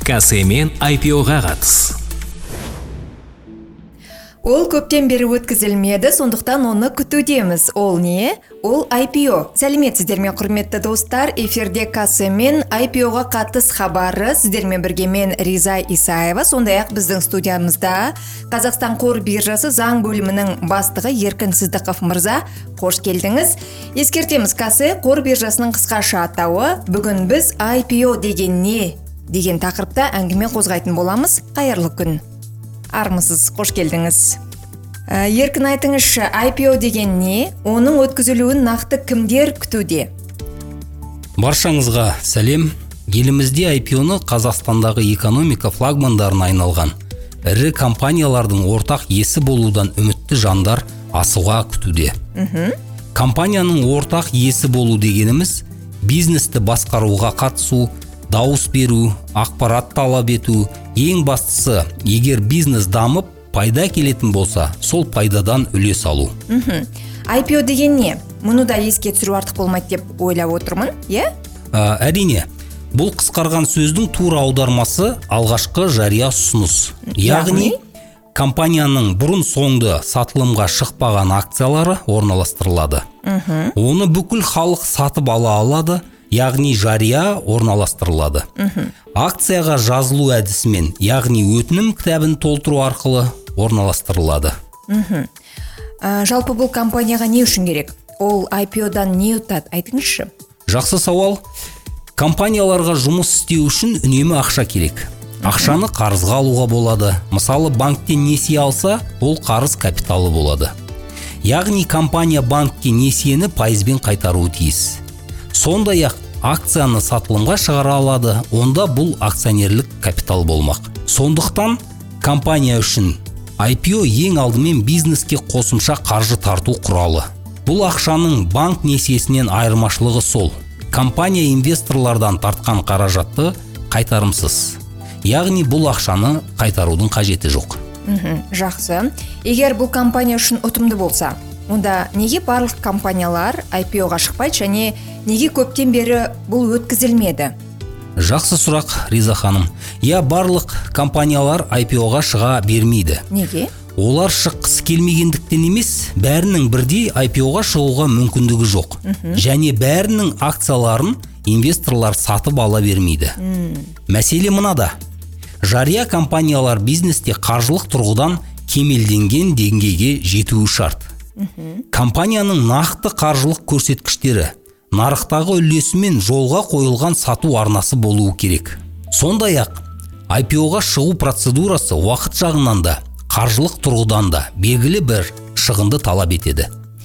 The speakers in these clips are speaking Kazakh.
Касемен IPO-ға қатыс. Ол көптен бері өткізілмеді, сондықтан оны күтудеміз. Ол не? Ол IPO. Сәлеметсіздер ме, құрметті достар? Эфирде Касемен IPO-ға қатыс хабары. Сіздермен бірге мен Риза Исаева. Сондай-ақ біздің студиямызда Қазақстан қор биржасы заң бөлімінің бастығы Еркін Сыздықов мырза. Қош келдіңіз. Ескертеміз, Касе қор биржасының қысқаша атауы. Бүгін біз IPO деген не? Деген тақырыпта әңгіме қозғайтын боламыз. Қайырлы күн. Армысыз, қош келдіңіз. Еркін, айтыңызшы, IPO деген не? Оның өткізілуін нақты кімдер күтуде? Баршаңызға сәлем. Елімізде IPO-ны Қазақстандағы экономика флагмандарына айналған ірі компаниялардың ортақ есі болудан үмітті жандар асуға күтуде. Компанияның ортақ есі болу дегеніміз бизнесті басқаруға қатысу, дауыс беру, ақпарат талап ету, ең бастысы, егер бизнес дамып, пайда келетін болса, сол пайдадан үлес алу. IPO деген не? Мұны да еске түсіру артық болмайды деп ойлап отырмын, е? Әрине, бұл қысқарған сөздің тура аудармасы алғашқы жария ұсыныс. Яғни, компанияның бұрын соңды сатылымға шықпаған акциялары орналастырылады. Оны бүкіл халық сатып ала алады, яғни жария орналастырылады. Акцияға жазылу әдісімен, яғни өтінім кітабын толтыру арқылы орналастырылады. Жалпы бұл компанияға не үшін керек? Ол IPO-дан не ұтады? Айтыңызшы. Жақсы сауал. Компанияларға жұмыс істеу үшін үнемі ақша керек. Ақшаны қарызға алуға болады. Мысалы, банктен несие алса, ол қарыз капиталы болады. Яғни компания банкке несиені пайызбен қайтаруы тиіс. Сондай-ақ акцияны сатылымға шығара алады, онда бұл акционерлік капитал болмақ. Сондықтан компания үшін IPO ең алдымен бизнеске қосымша қаржы тарту құралы. Бұл ақшаның банк несиесінен айырмашылығы сол. Компания инвесторлардан тартқан қаражатты қайтарымсыз. Яғни бұл ақшаны қайтарудың қажеті жоқ. Жақсы. Егер бұл компания үшін ұтымды болса, онда неге барлық компаниялар IPO-ға шықпайды және неге көптен бері бұл өткізілмеді? Жақсы сұрақ, Риза ханым. Барлық компаниялар IPO-ға шыға бермейді. Неге? Олар шыққысы келмегендіктен емес, бәрінің бірдей IPO-ға шығуға мүмкіндігі жоқ. Және бәрінің акцияларын инвесторлар сатып ала бермейді. Мәселе мынада. Жария компаниялар бизнесте қаржылық тұрғыдан кемелденген деңгейге жетуі шарт. Компанияның нақты қаржылық көрсеткіштері, нарықтағы үлесімен жолға қойылған сату арнасы болуы керек. Сондай-ақ, IPO-ға шығу процедурасы уақыт жағынан да, қаржылық тұрғыдан да белгілі бір шығынды талап етеді.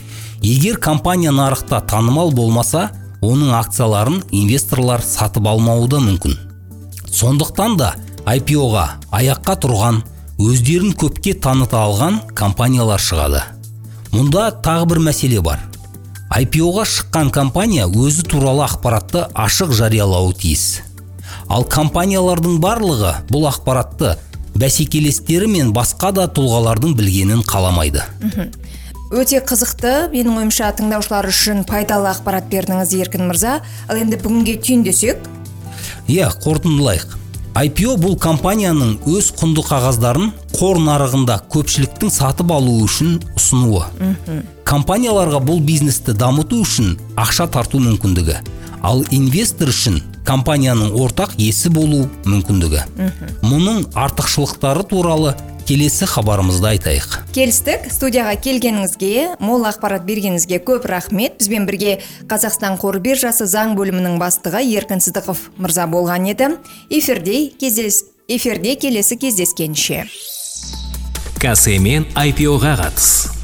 Егер компания нарықта танымал болмаса, оның акцияларын инвесторлар сатып алмауы да мүмкін. Сондықтан да IPO-ға аяққа тұрған, өздерін көпке таныта алған компаниялар шығады. Мұнда тағы бір мәселе бар. IPO-ға шыққан компания өзі туралы ақпаратты ашық жариялауы тиіс. Ал компаниялардың барлығы бұл ақпаратты бәсекелестері мен басқа да тұлғалардың білгенін қаламайды. Өте қызықты, менің ойымша тыңдаушылар үшін пайдалы ақпарат бердіңіз, Еркін мырза. Ал енді бүгінге түйіндесек? Қорытындылайық. IPO бұл компанияның өз құнды қағаздарын қор нарығында көпшіліктің сатып алуы үшін ұсынуы. Компанияларға бұл бизнесті дамыту үшін ақша тарту мүмкіндігі. Ал инвестор үшін компанияның ортақ есі болу мүмкіндігі. Мұның артықшылықтары туралы келесі хабарымызда айтайық. Келістік. Студияға келгеніңізге, мол ақпарат бергеніңізге көп рахмет. Бізбен бірге Қазақстан қор биржасы заң бөлімінің бастығы Еркін Сыздықов мырза болған еді. Эфирде келесі кездескенше. Касемен IPO-ға қатыс.